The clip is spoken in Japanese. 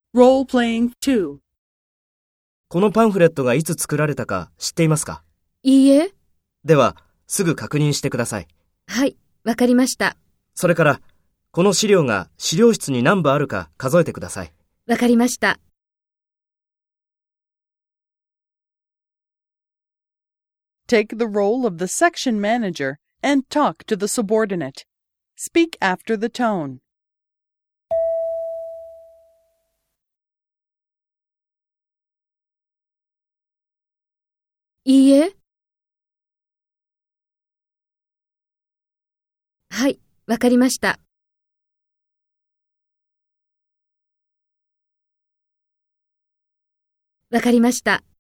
Role-playing 2. このパンフレットがいつ作られたか知っていますか？ いいえ。 では、すぐ確認してください。 はい、わかりました。 それから、この資料が資料室に何部あるか数えてください。 わかりました。 Take the role of the section manager and talk to the subordinate. Speak after the tone. いいえ。はい、わかりました。わかりました。